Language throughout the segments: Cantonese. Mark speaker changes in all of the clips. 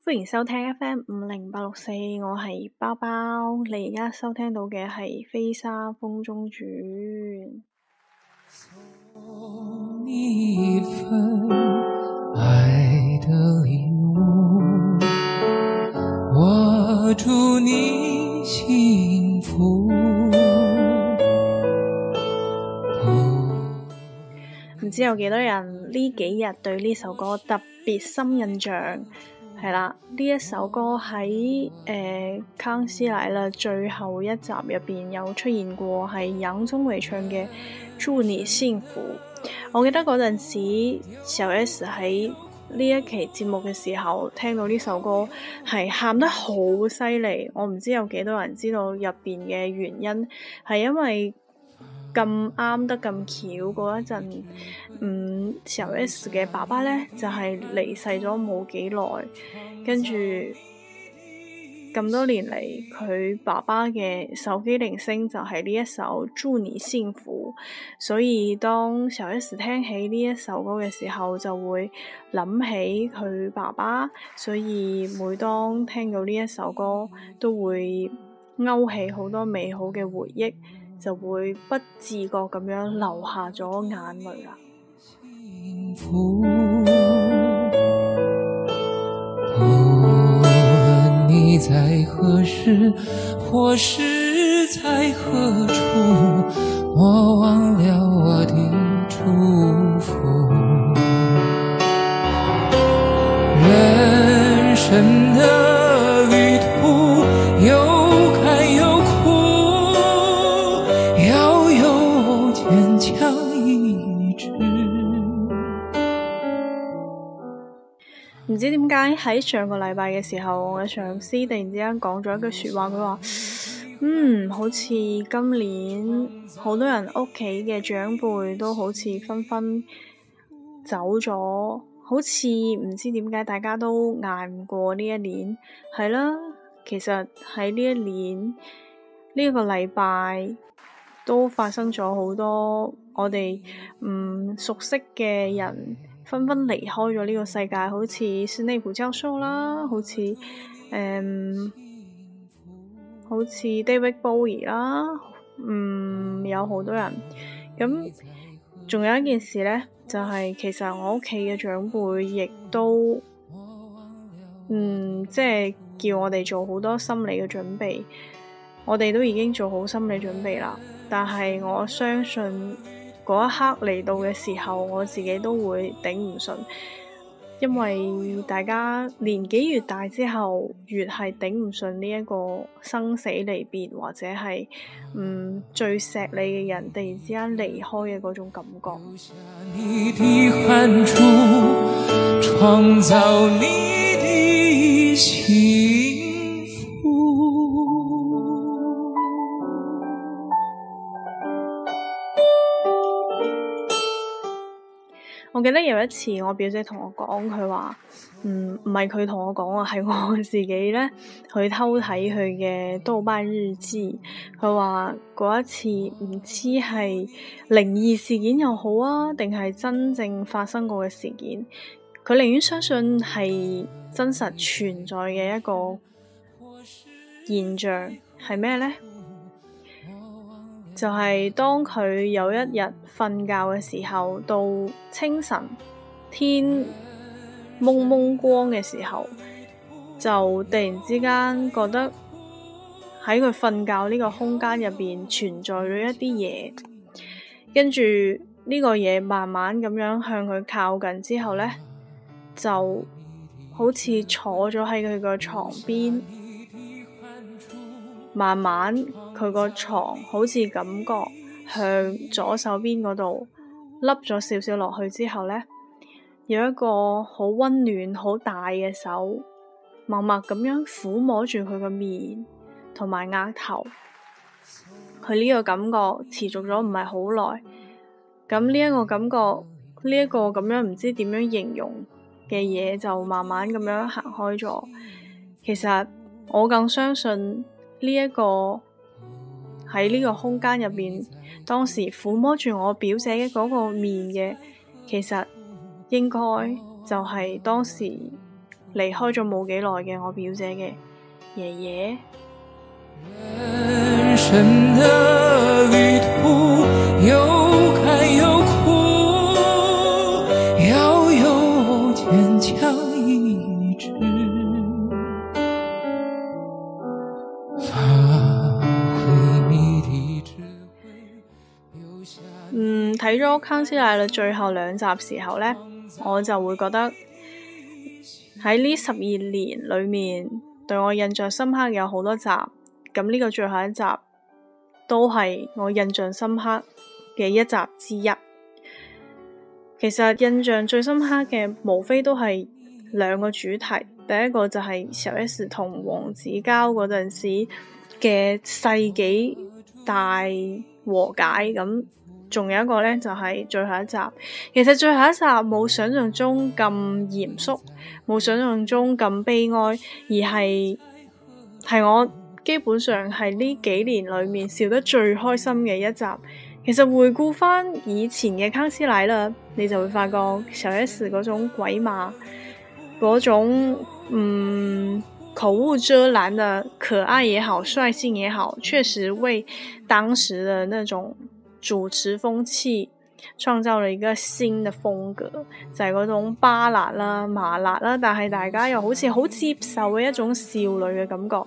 Speaker 1: 歡迎收聽 FM50864，我係包包，你而家收聽到嘅係《飛沙風中轉》。
Speaker 2: 送你一份愛的禮物，我祝你幸福。
Speaker 1: 唔知有幾多人呢幾日對呢首歌特別深印象？係啦，呢一首歌喺康熙來了最後一集入邊有出現過，係楊宗緯唱嘅《祝你幸福》。我記得嗰陣時小 S 喺呢一期節目嘅時候聽到呢首歌係喊得好犀利，我唔知有幾多人知道入邊嘅原因，係因為咁啱得咁巧嗰一陣，小 S 嘅爸爸呢就係離世咗冇幾耐，跟住咁多年嚟佢爸爸嘅手機鈴聲就係呢一首《祝你幸福》，所以當小 S 聽起呢一首歌嘅時候就會諗起佢爸爸，所以每當聽到呢一首歌都會勾起好多美好嘅回憶，就會不自覺咁樣流下咗眼淚啦。
Speaker 2: 無論你在何時或是在何處，我忘了我的祝福。人生的旅途有坎有苦，要有堅強意志。
Speaker 1: 唔知點解喺上個禮拜嘅時候，我嘅上司突然之間講咗一句說話，佢話好似今年好多人屋企嘅長輩都好似紛紛走咗，好似唔知點解大家都捱唔過呢一年。係啦，其實喺呢一年呢一個禮拜都發生咗好多我哋唔熟悉嘅人紛紛離開咗呢個世界，好似史內普教授啦，好似David Bowie 啦，有好多人。咁仲有一件事呢，就係其實我屋企嘅長輩亦都即係叫我哋做好多心理嘅準備，我哋都已經做好心理準備啦。但係我相信嗰一刻嚟到嘅時候，我自己都會頂唔順，因為大家年紀越大之後，越係頂唔順呢一個生死離別，或者係最錫你嘅人突然之間離開嘅嗰種感覺。
Speaker 2: 你的汗珠，創造你的幸福。
Speaker 1: 我記得有一次我表姐同我講，佢話唔係佢同我講啊，係我自己呢去偷睇佢嘅豆瓣日記。佢話嗰一次唔知係靈異事件又好啊，定係真正發生過嘅事件，佢寧願相信係真實存在嘅一個現象。係咩呢？就係當佢有一日瞓覺嘅時候，到清晨天蒙蒙光嘅時候，就突然之間覺得喺佢瞓覺呢個空間入邊存在咗一啲嘢，跟住呢個嘢慢慢咁樣向佢靠近之後呢，就好似坐咗喺佢個床邊，慢慢佢個床好似感覺向左手邊嗰度凹咗少少落去之後呢，有一個好溫暖好大嘅手默默咁樣撫摸住佢個面同埋額頭。佢呢個感覺持續咗唔係好耐，咁呢一個感覺，呢一個咁樣唔知點樣形容嘅嘢就慢慢咁樣行開咗。其實我更相信呢一個喺呢個空間入邊，當時撫摸住我表姐嘅嗰個面嘅，其實應該就係當時離開咗冇幾耐嘅我表姐嘅爺爺。
Speaker 2: 人生的旅途有甘有苦，要有堅強意志，發揮你的智慧，留下
Speaker 1: 睇咗《康熙來了》最後2集時候呢，我就會覺得喺呢12年裏面對我印象深刻有好多集，咁呢個最後一集都係我印象深刻嘅一集之一。其實印象最深刻嘅無非都係2個主題，第一個就係小 S 同黃子佼嗰陣時嘅世紀大和解，咁仲有一個呢，就係最後一集。其實最後一集冇想象中咁嚴肅，冇想象中咁悲哀，而係我基本上係呢幾年裏面笑得最開心嘅一集。其實回顧翻以前嘅康熙來了，你就會發覺小 S 嗰種鬼馬，嗰種口無遮攔的可愛也好，率性也好，確實為當時的那種主持風氣創造了一個新的風格，就係嗰種巴辣啦、麻辣啦，但係大家又好似好接受嘅一種少女嘅感覺。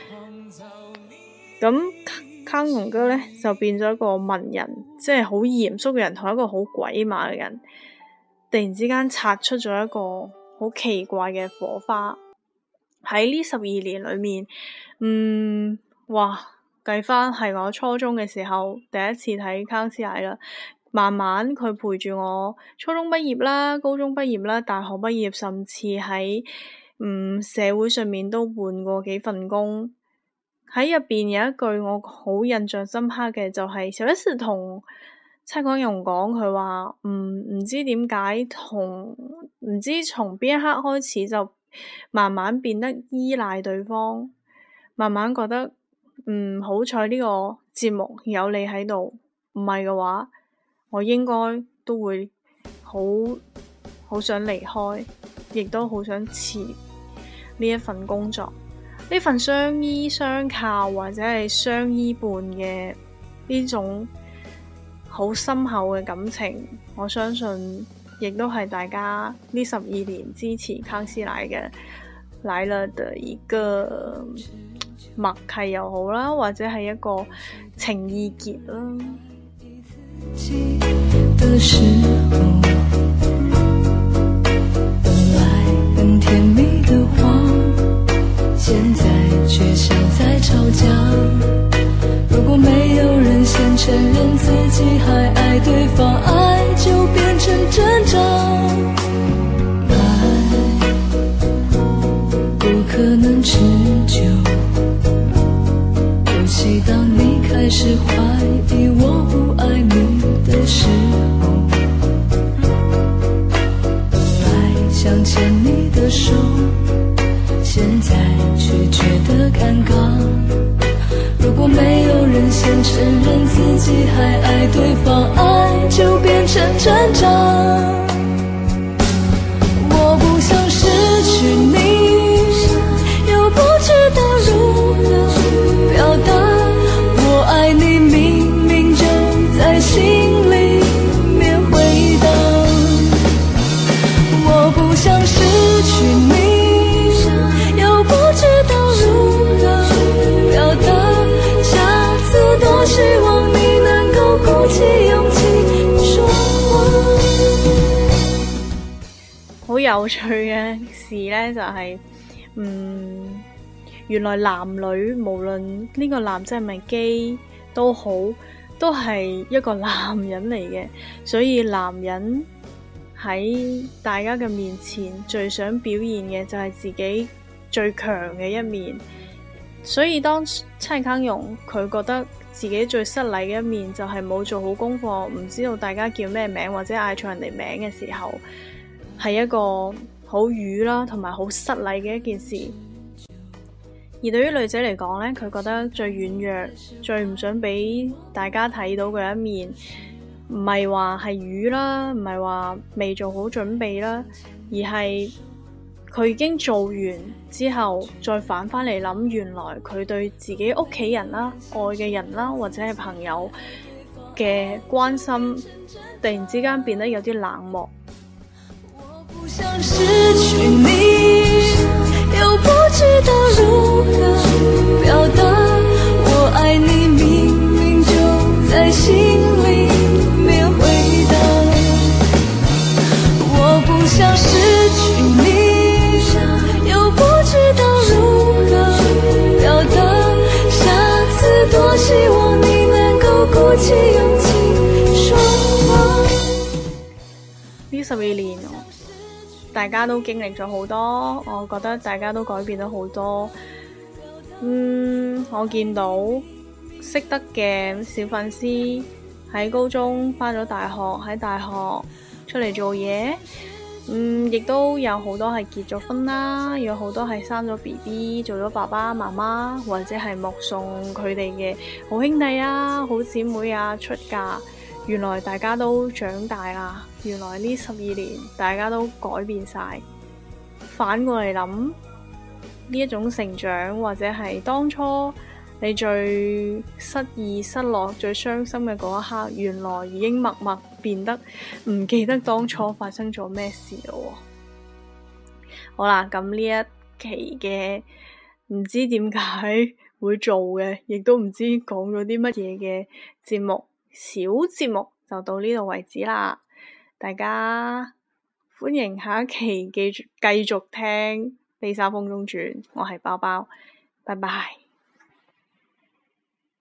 Speaker 1: 咁康永哥呢，就變咗一個文人，即係好嚴肅嘅人，同一個好鬼馬嘅人，突然之間擦出咗一個好奇怪嘅火花。喺呢12年裏面，哇！計翻係我初中嘅時候第一次睇康熙來了，慢慢佢陪住我初中畢業啦、高中畢業啦、大學畢業，甚至喺社會上面都換過幾份工。喺入邊有一句我好印象深刻嘅，就係小 S 同蔡康永講，佢話唔知點解唔知從邊一刻開始就慢慢變得依賴對方，慢慢覺得好彩呢個節目有你喺度，唔係嘅話我應該都會好想離開，亦都好想辭呢一份工作，呢份相依相靠或者係相依伴嘅呢種好深厚嘅感情，我相信亦都係大家呢12年支持康熙來了的一個默契又好啦，或者係一個情意結啦。
Speaker 3: 的時候，本來很甜蜜的話，現在卻像在吵架。如果沒有人先承認自己還愛對方，愛就變成掙扎。愛不可能持久，尤其當你開始懷疑我不愛你的時候，本來想牽你的手，現在卻覺得尷尬。如果沒有人先承認自己還愛對方，愛就變成掙扎。我不想失去你，又不知道如何表達。我愛你明明就在心裡面回盪。我不想失去你，又不知道如何表達。下次多希望你能夠鼓起勇氣說話。
Speaker 1: 好有趣嘅事呢，就係原來男女無論呢個男仔係咪基都好，都係一個男人嚟嘅，所以男人喺大家嘅面前最想表現嘅就係自己最強嘅一面。所以當蔡康永佢覺得自己最失禮嘅一面就係冇做好功課，唔知道大家叫咩名或者嗌錯人哋名嘅時候，係一個好瘀啦同埋好失禮嘅一件事。而對於女仔嚟講呢，佢覺得最軟弱、最唔想俾大家睇到嘅一面，唔係話係瘀啦，唔係話未做好準備啦，而係佢已經做完之後，再反返嚟諗，原來佢對自己屋企人啦、愛嘅人啦，或者係朋友嘅關心，突然之間變得有啲冷漠。
Speaker 3: 我不想失去你，又不知道如何表達，我愛你明明就在心裡面回答，我不想失去你，又不知道如何表達，下次多希望你能夠鼓起勇氣說話。
Speaker 1: 呢12年大家都經歷咗好多，我覺得大家都改變咗好多。我見到識得嘅小粉絲喺高中返咗大學，喺大學出嚟做嘢，亦都有好多係結咗婚啦，有好多係生咗 BB 做咗爸爸媽媽，或者係目送佢哋嘅好兄弟啊、好姊妹啊出嫁。原來大家都長大啦，原來呢12年大家都改變晒。反過嚟諗，呢一種成長，或者係當初你最失意、失落、最傷心嘅嗰一刻，原來已經默默變得唔記得當初發生咗咩事咯。好啦，咁呢一期嘅唔知點解會做嘅，亦都唔知講咗啲乜嘢嘅節目，小節目就到呢度為止啦。大家歡迎下一期繼續聽《飛沙風中轉》，我係包包，拜拜。